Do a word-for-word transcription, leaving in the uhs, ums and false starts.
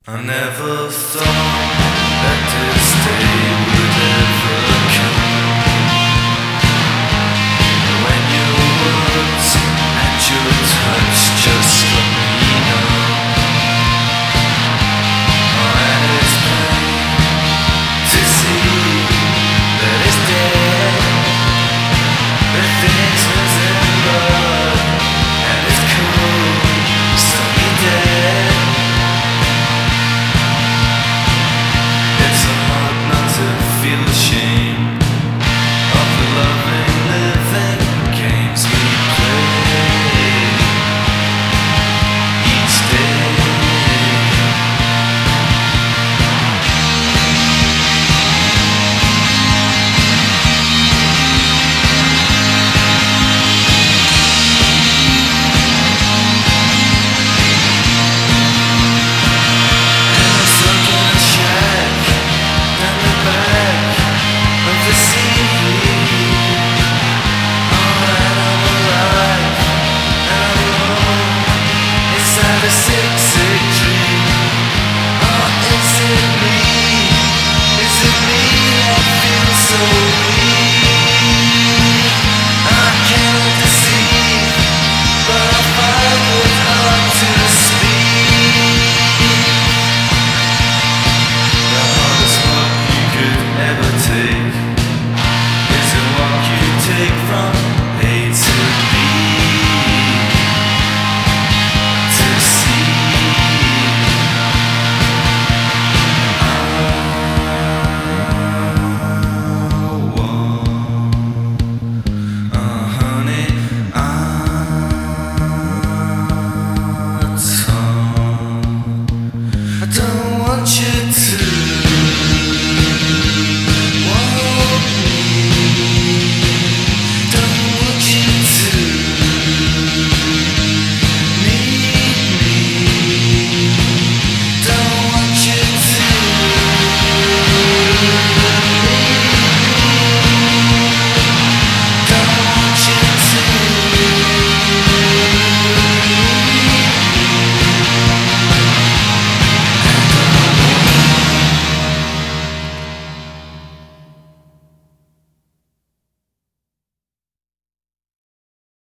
I never thought that this day would ever come, when your words and your touch just let me know. Oh, and it's plain to see that it's dead, that things was in blood, and it's cold, stony dead. It's so hard not to feel ashamed.